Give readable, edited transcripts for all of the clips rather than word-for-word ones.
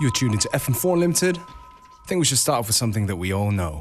You're tuned into FM4 Unlimited. I think we should start off with something that we all know.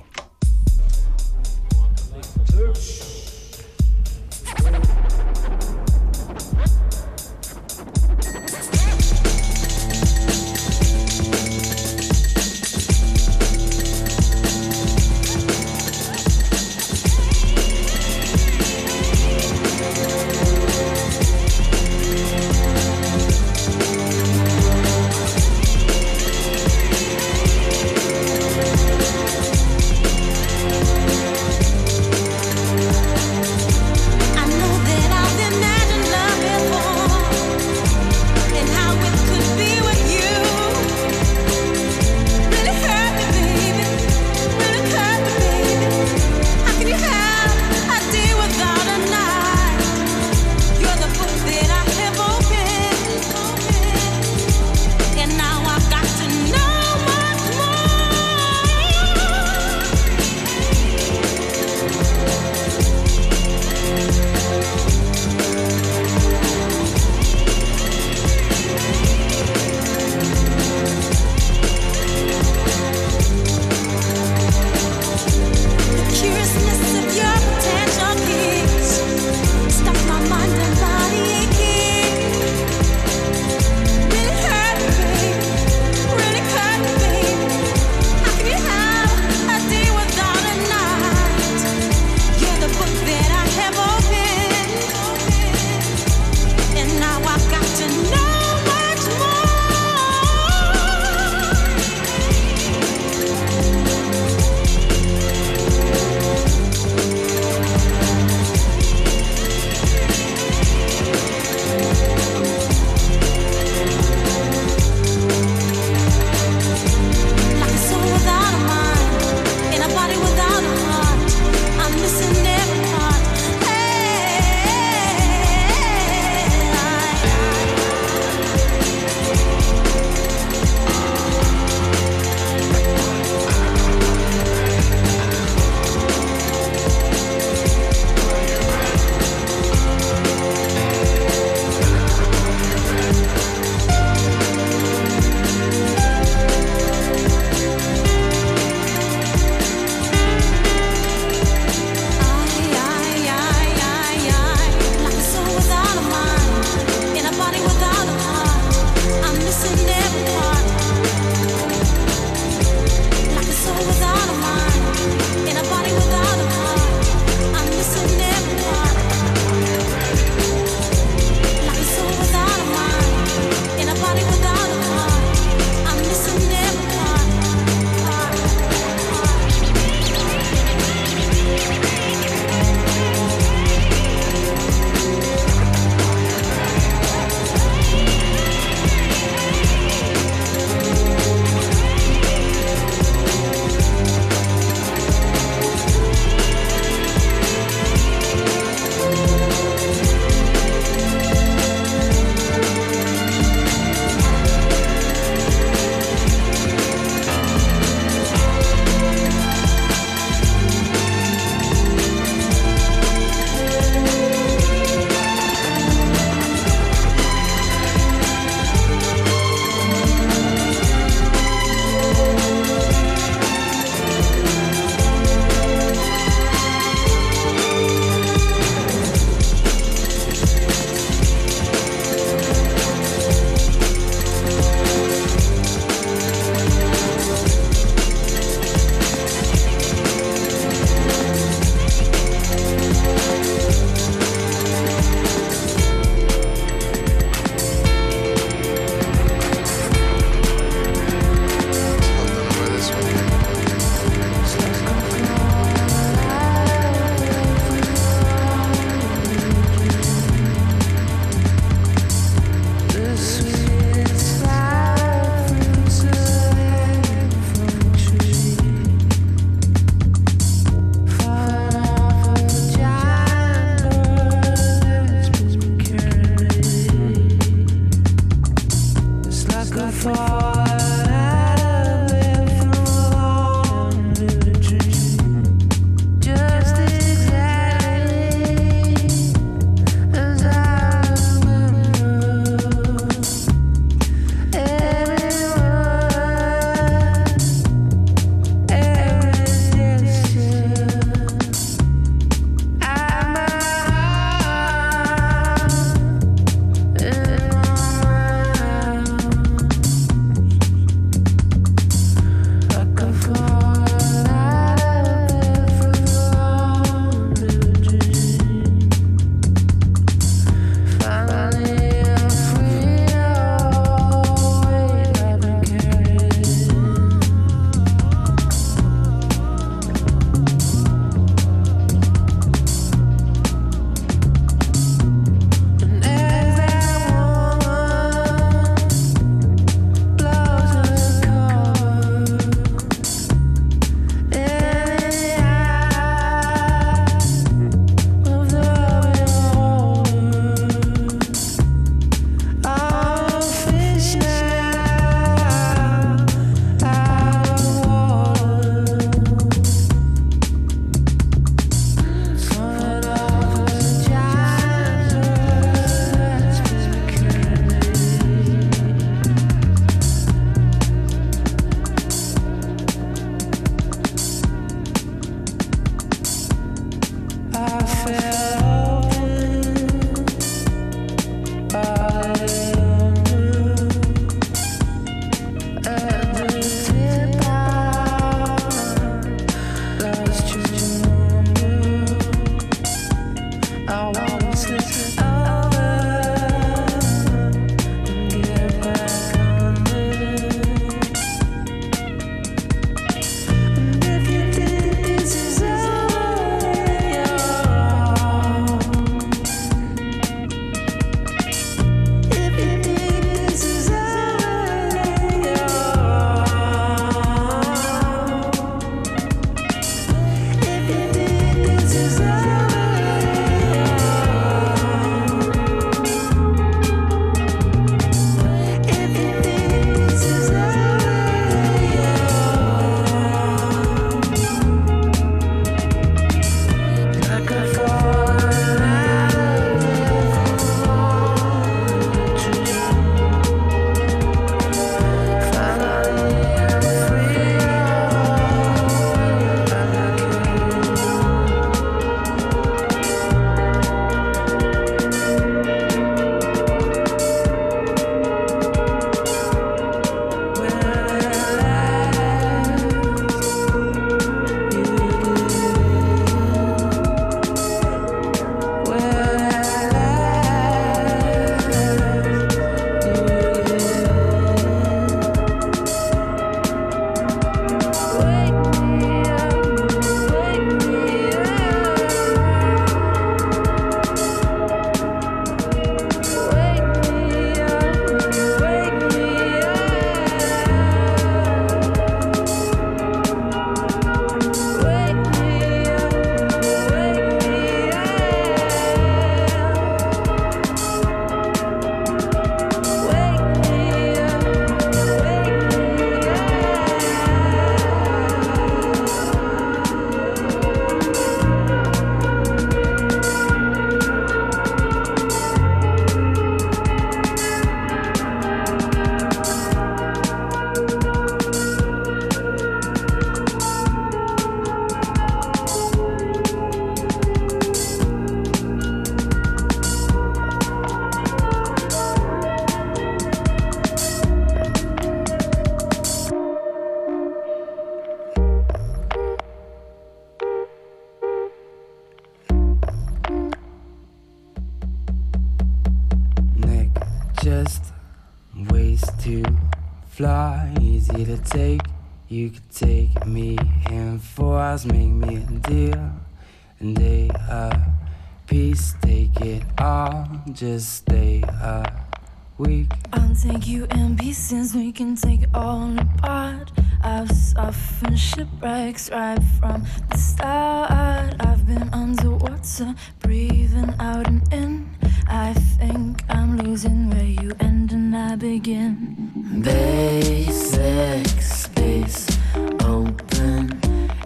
just ways to fly, easy to take. You could take me in 4 hours, make me a deal, and day a piece, take it all, just stay a week. I'll take you in pieces, we can take it all apart. I've suffered shipwrecks right from the start. I've been underwater, breathing out and in. I think I'm losing where you end and I begin. Basic space, open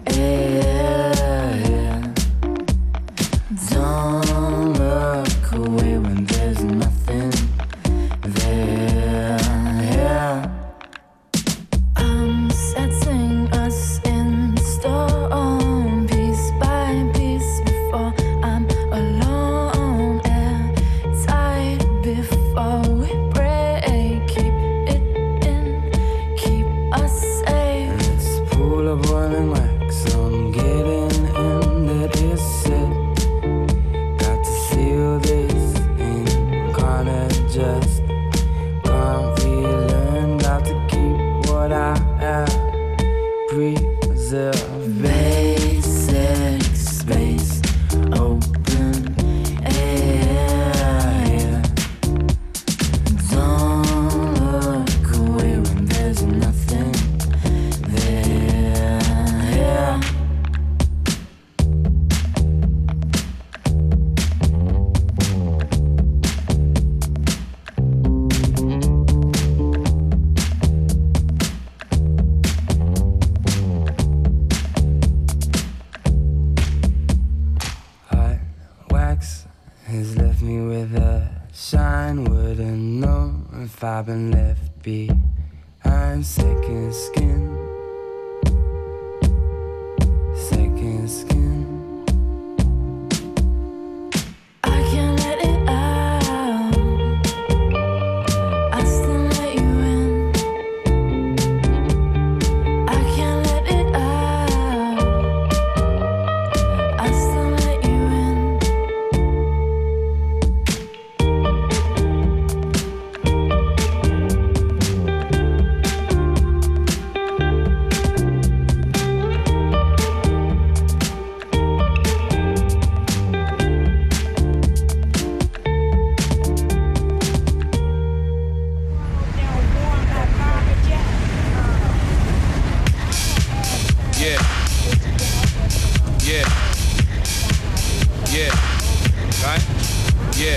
air. Don't look away when there's nothing there. I'm setting us in stone, piece by piece, before I'm alone. Air tight before we break. Keep it in, keep us safe. It's a pool of boiling wax, I'm getting in. That is it. Got to seal this in, can't adjust, can't relearn. Got to keep what I have, preserve. Basic space, open air. Don't look away when there's nothing there. Hot wax has left me with a shine. Wouldn't know if I've been left behind. Second skin, second skin. I can't let it out, I still let you in. I can't let it out, I still let you in. Yeah. Yeah. Yeah. Right? Yeah.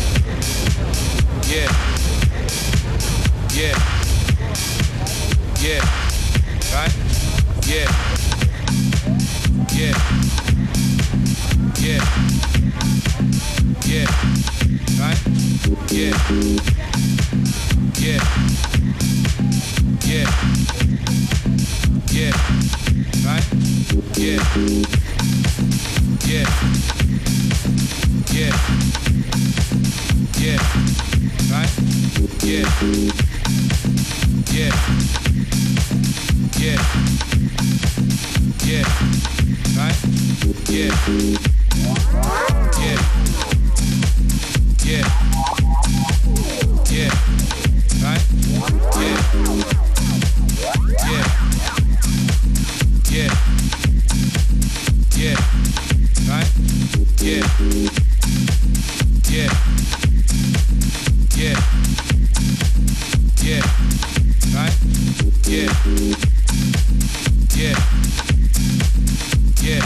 Yeah. Yeah. Yeah. Right? Yeah. Yeah. Yeah. Yeah. Right? Yeah. Yeah. Yeah. Yeah. Right? Yeah. Yeah. Yeah. Yeah. Right? Yeah. Yeah. Yeah. Yeah. Right? Yeah. Yeah. Yeah. Yeah. Right? Yeah. Yeah. Yeah. Yeah. Right? Yeah. Yeah. Yeah. Yeah. Right? Yeah. Yeah. Yeah.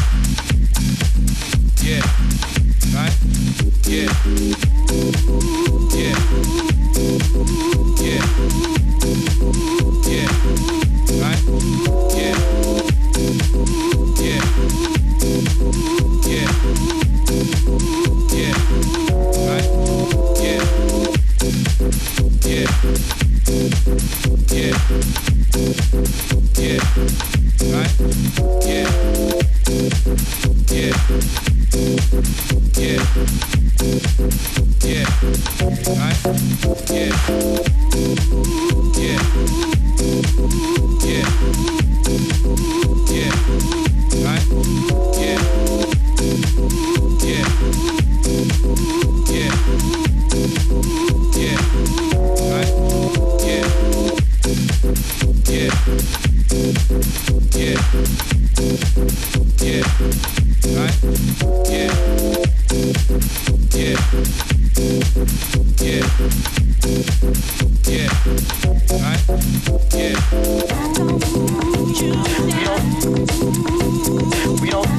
Yeah. Right? Yeah. Yeah. Yeah. Yeah. Right? Yeah. Yeah. Yeah. Yeah. Right? Yeah. Yeah. Yeah. Yeah. Right? Yeah. Yeah. Yeah. Yeah. Right? Yeah. Yeah. Yeah. Yeah. Right? Yeah. Yeah. Yeah. Yeah. Right? Yeah. Yeah. Yeah. Yeah. Right? Yeah. We don't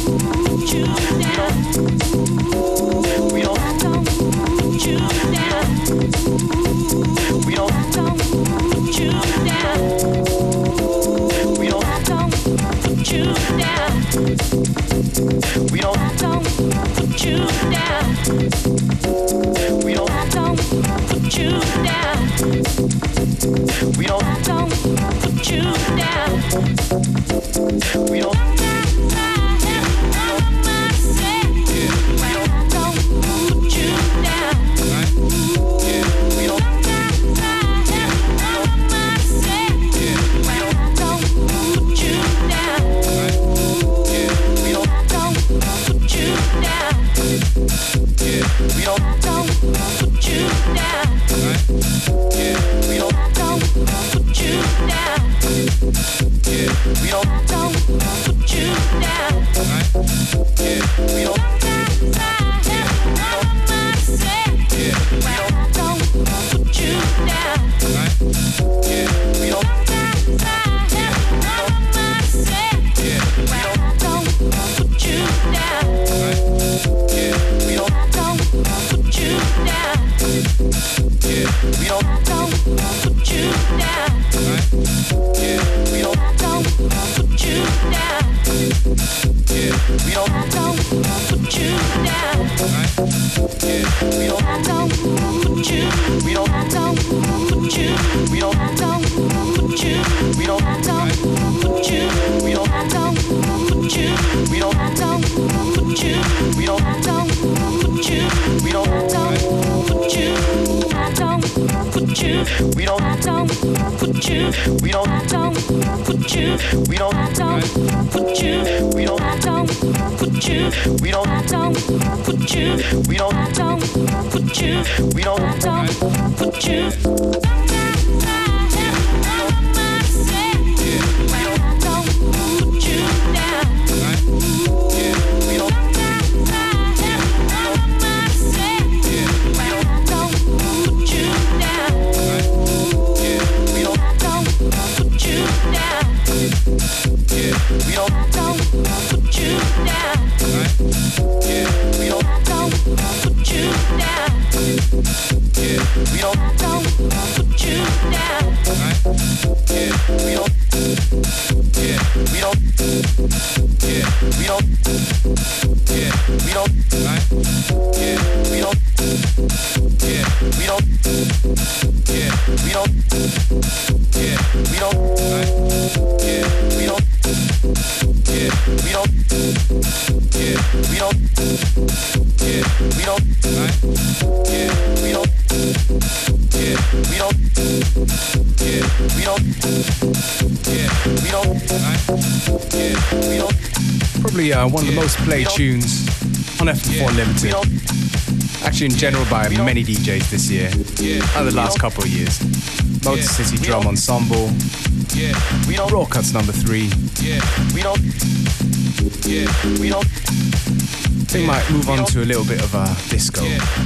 Probably one of the most played tunes on FM4 Limited. Actually, in general, by many DJs this year and the last couple of years. Motor City Drum Ensemble, Raw Cuts number 3. I think might move on to a little bit of a disco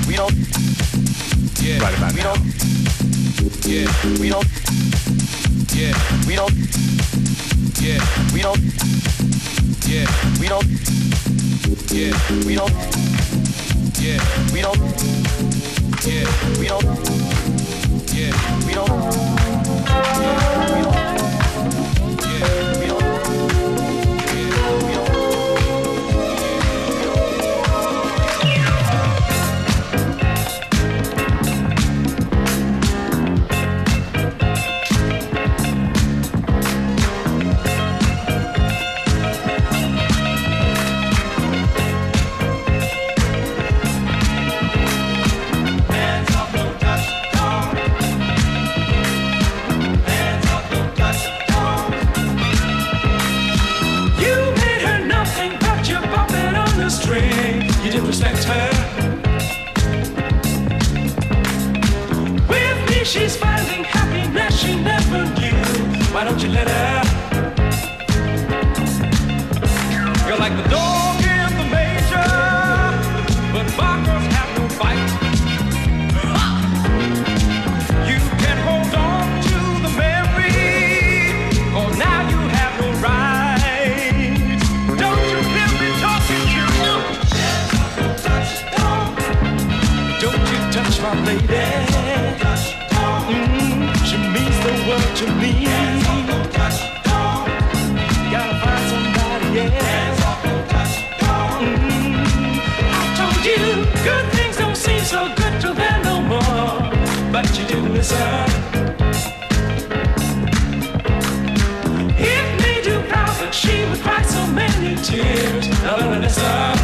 right about now. Hands my lady. She means the world to me. Gotta find somebody else. I told you good things don't seem so good to her no more, but you didn't listen. It made you proud that she would cry so many tears. Now listen.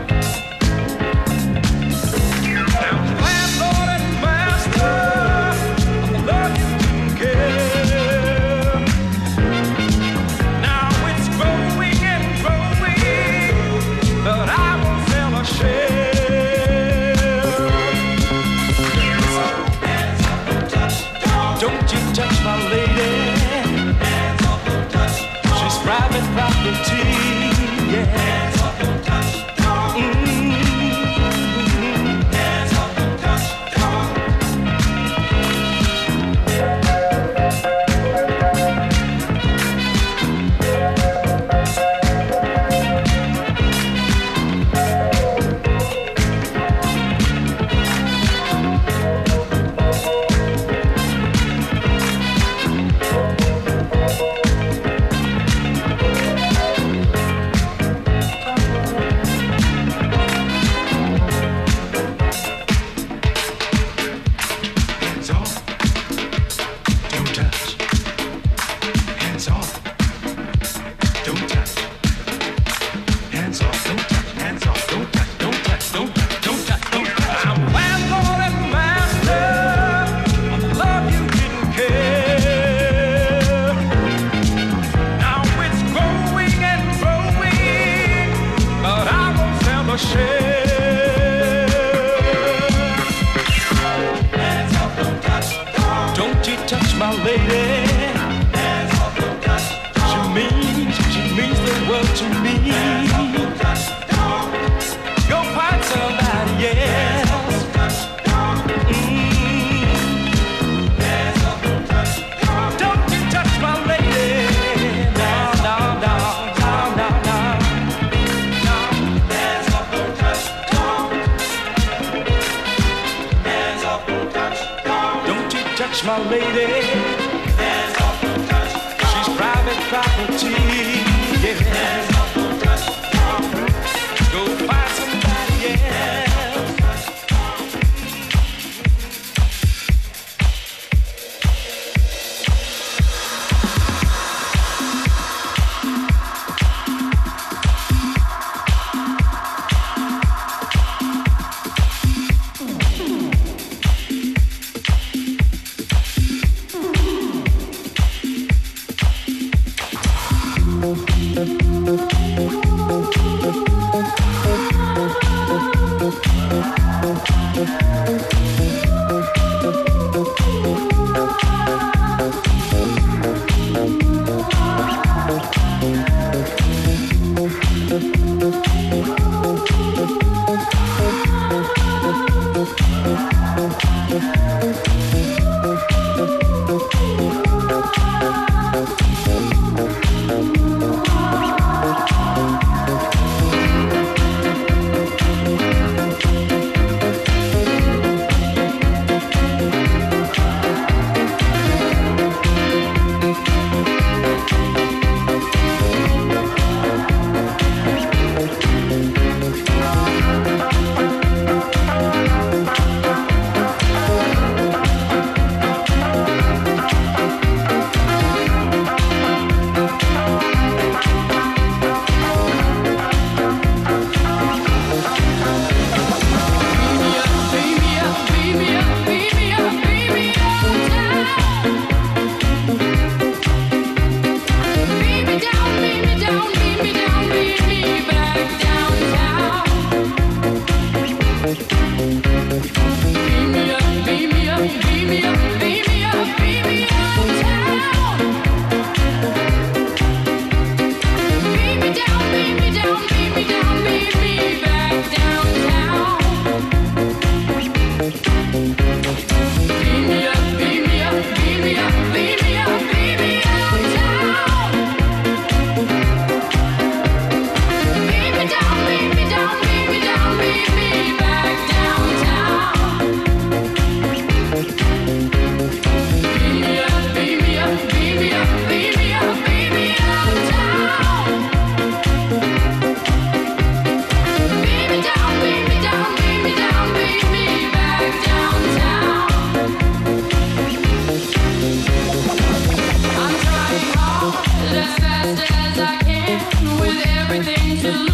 My lady, she's private property. Yeah. Go find somebody else.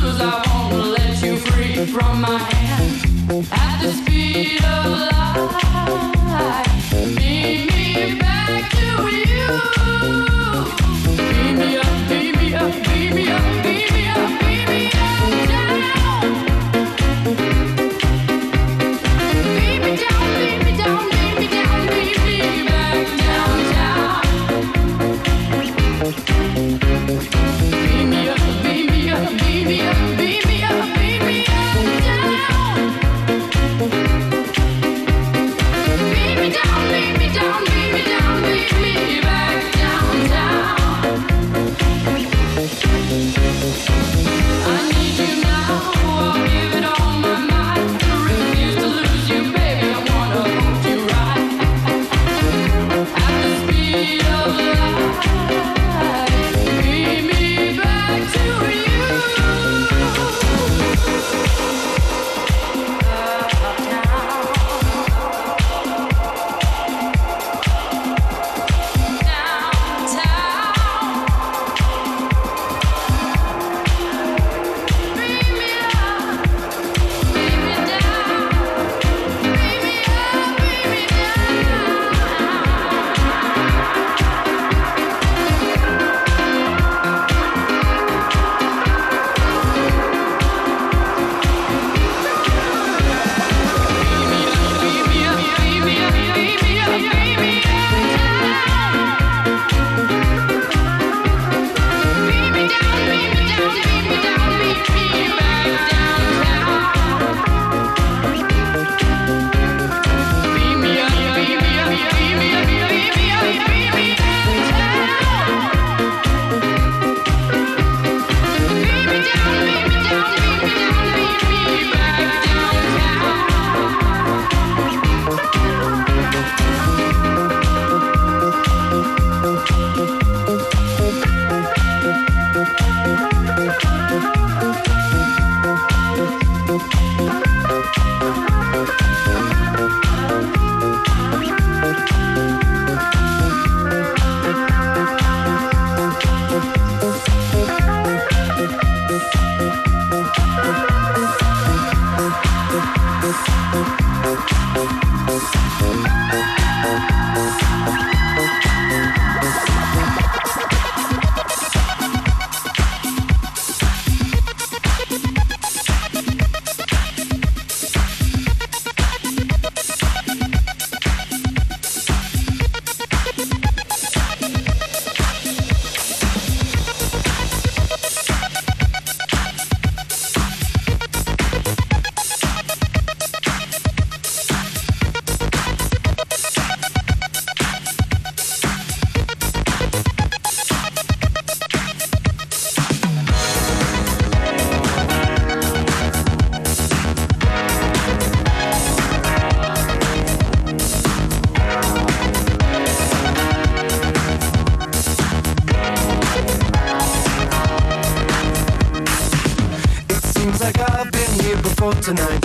Tonight.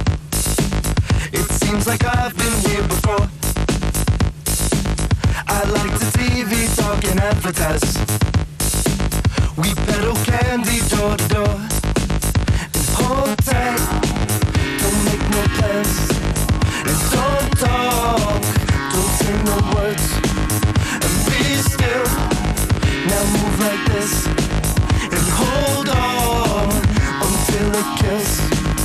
It seems like I've been here before. I like the TV talk and advertise. We peddle candy door to door. And hold tight, don't make no plans. And don't talk, don't say no words. And be still, now move like this. And hold on until it kills.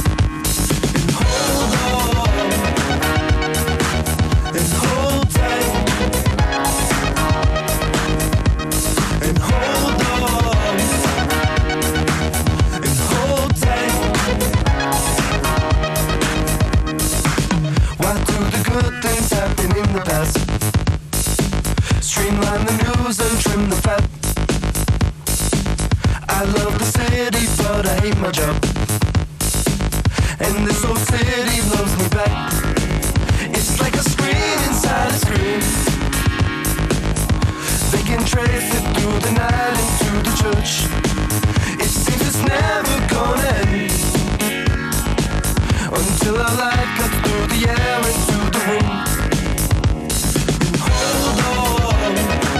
Streamline the news and trim the fat. I love the city, but I hate my job. And this old city loves me back. It's like a screen inside a screen. They can trace it through the night into the church. It seems it's never gonna end until our light cuts through the air into the room.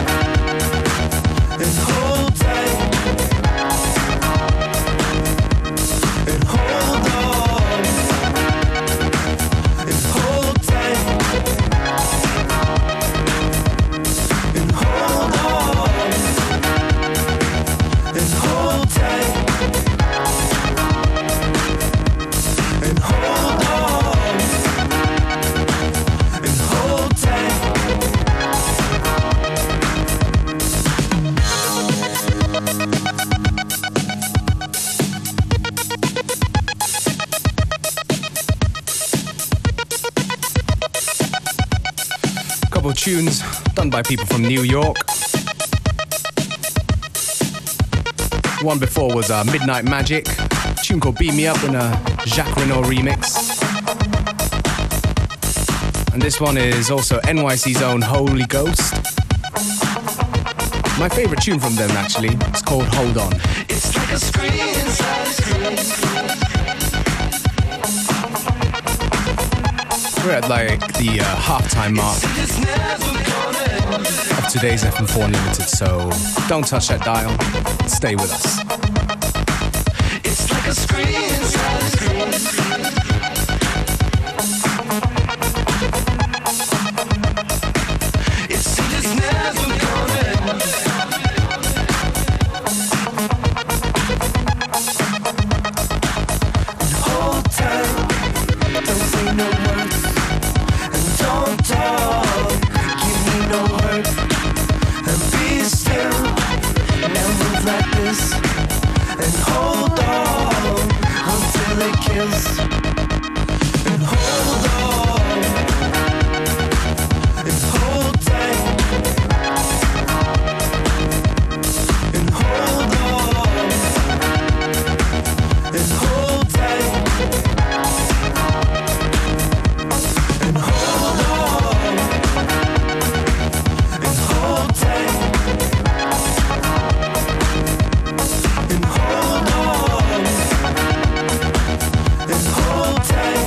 And hold tight. couple of tunes done by people from New York. One before was Midnight Magic, a tune called Beat Me Up in a Jacques Renault remix. And this one is also NYC's own Holy Ghost. My favorite tune from them, actually, it's called Hold On. It's like a screen inside a screen. We're at like the halftime mark of today's FM4 Unlimited, so don't touch that dial. Stay with us. It's like a screen inside a screen. It's never gonna end. Hold tight, don't say no words, and don't talk. Give me no hurt, and be still. Now move like this, and hold on until it kills. And hold on, and hold tight, and hold on, and hold tight, and hold on, and hold tight, and hold on, and hold tight.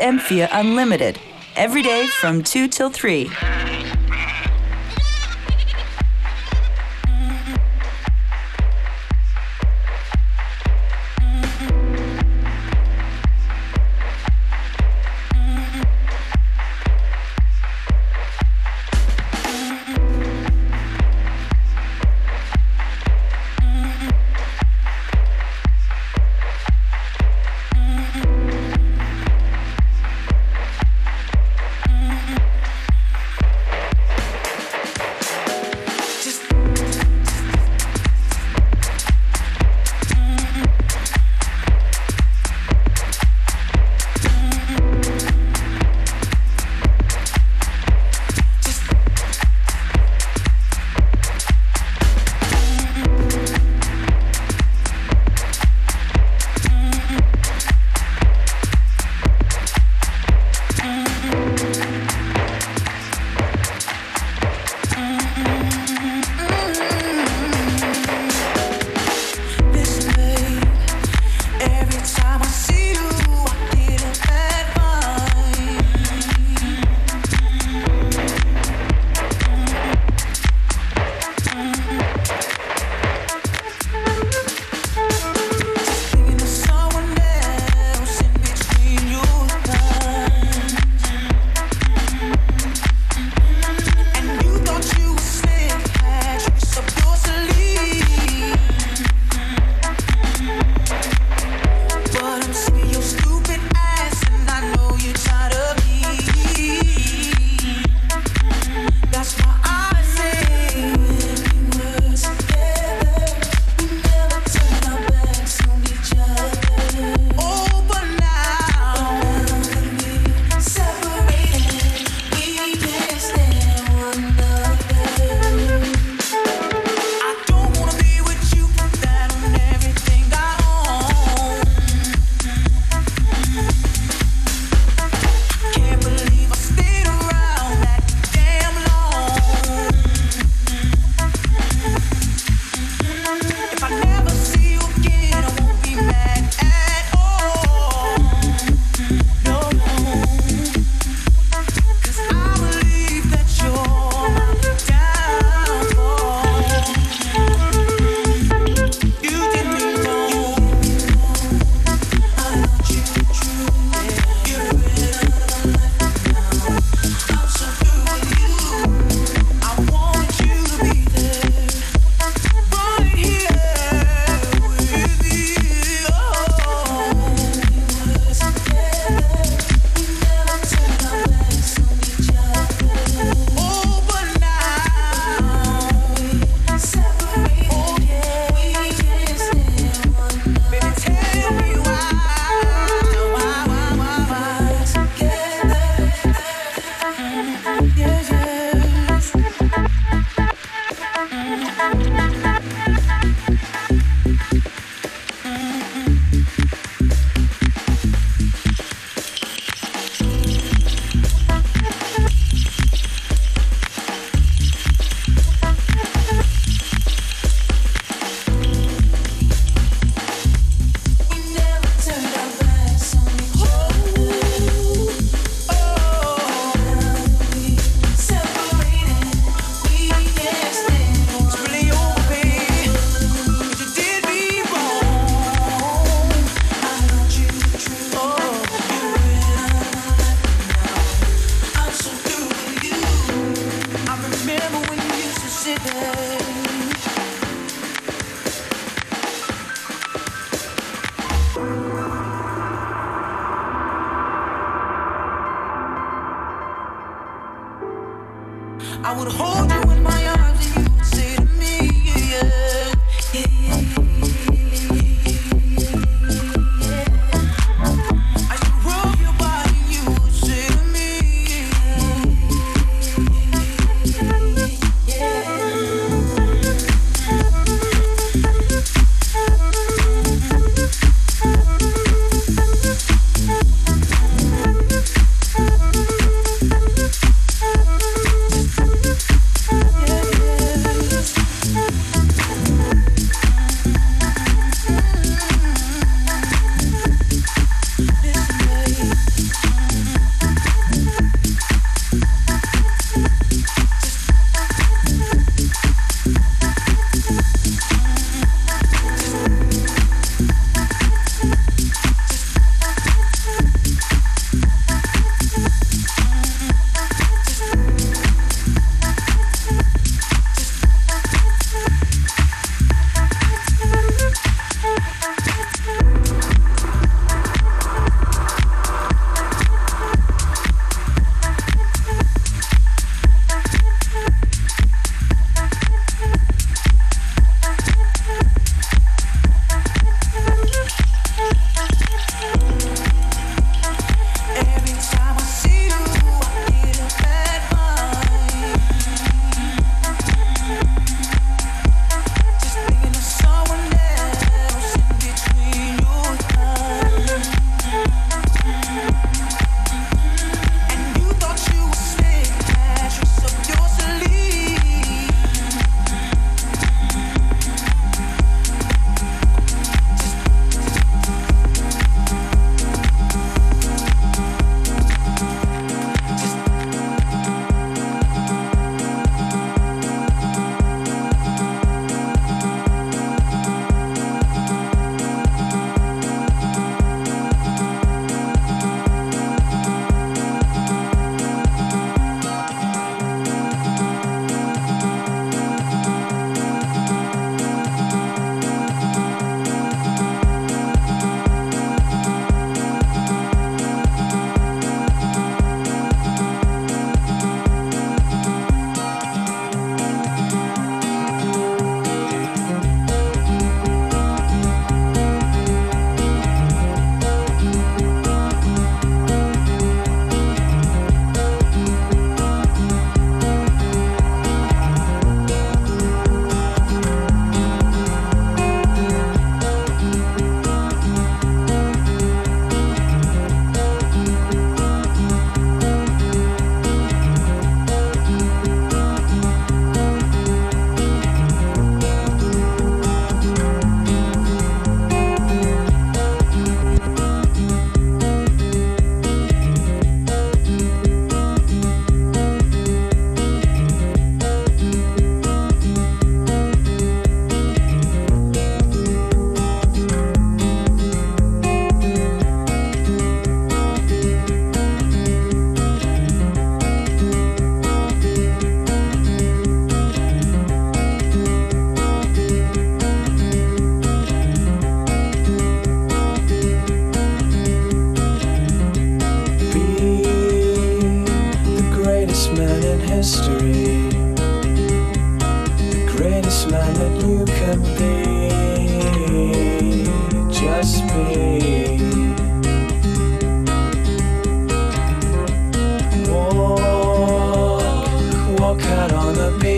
FM4 Unlimited, every day from 2 till 3. I would hold you in my arms and you would say to me, yeah, yeah, yeah, yeah. I should rub your body and you would say to me,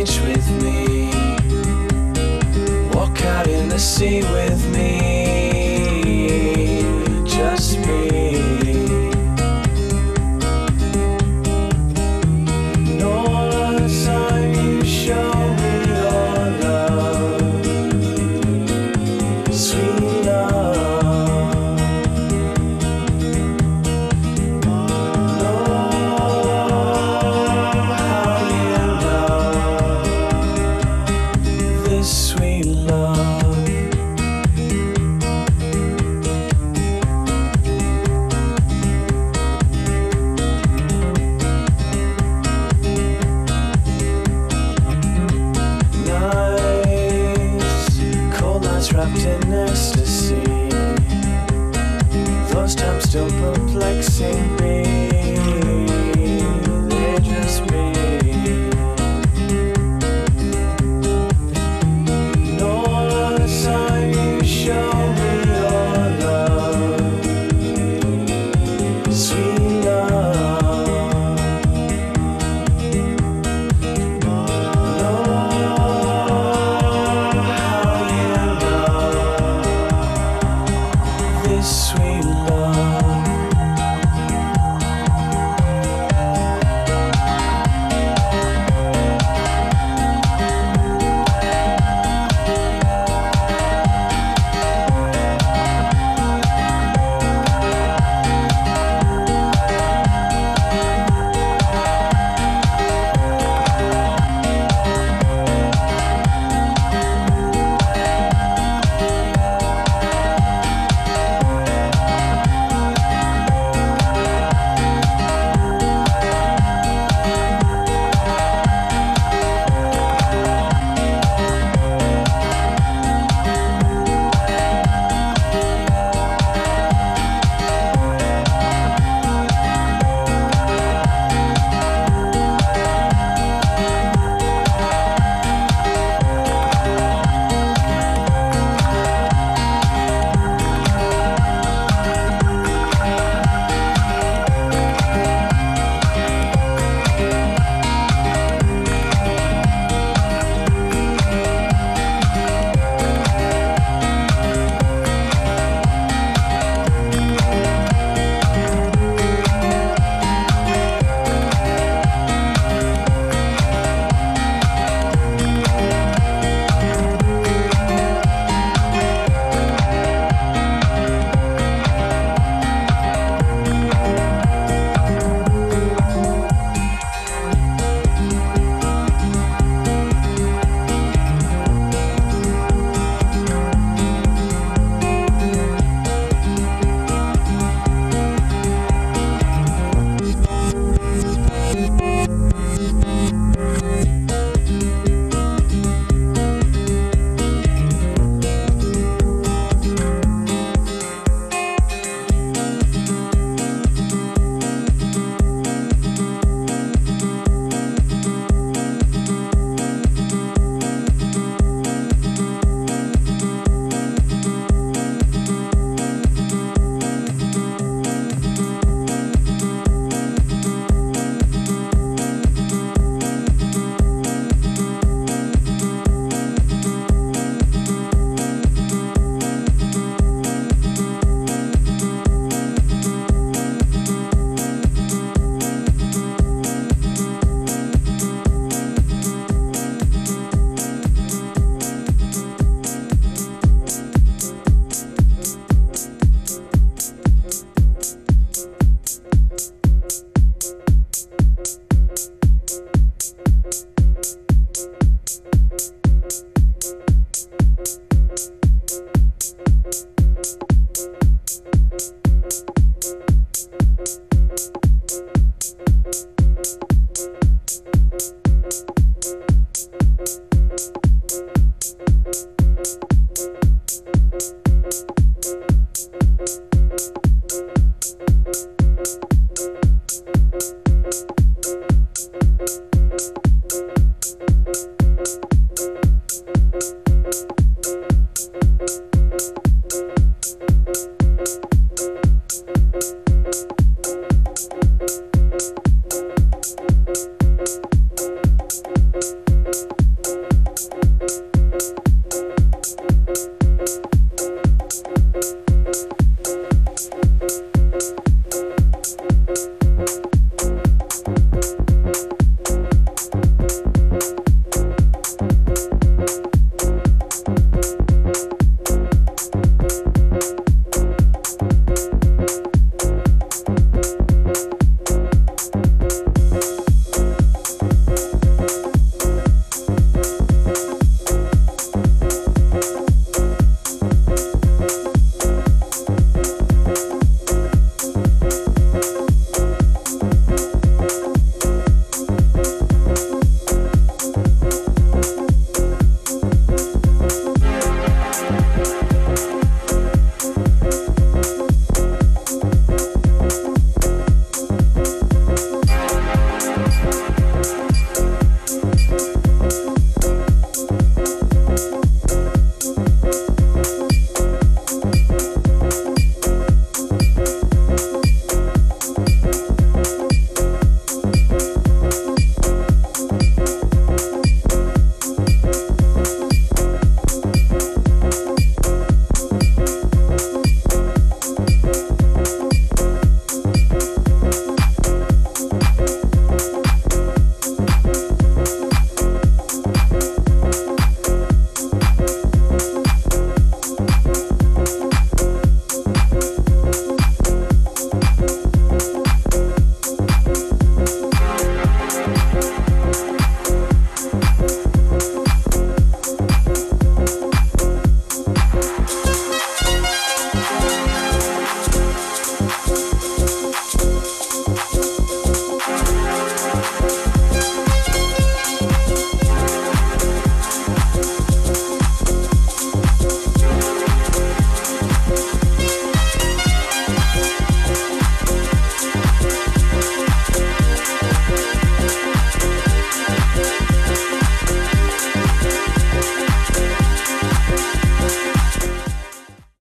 beach with me. Walk out in the sea with me. Just me. And all the time you show me your love, sweet love. Oh, how you love this sweet love. Nights, cold nights wrapped in ecstasy. Those times still perplexing me. They're just me. And all the time you show me your love, sweet love. Oh, how you love this sweet love.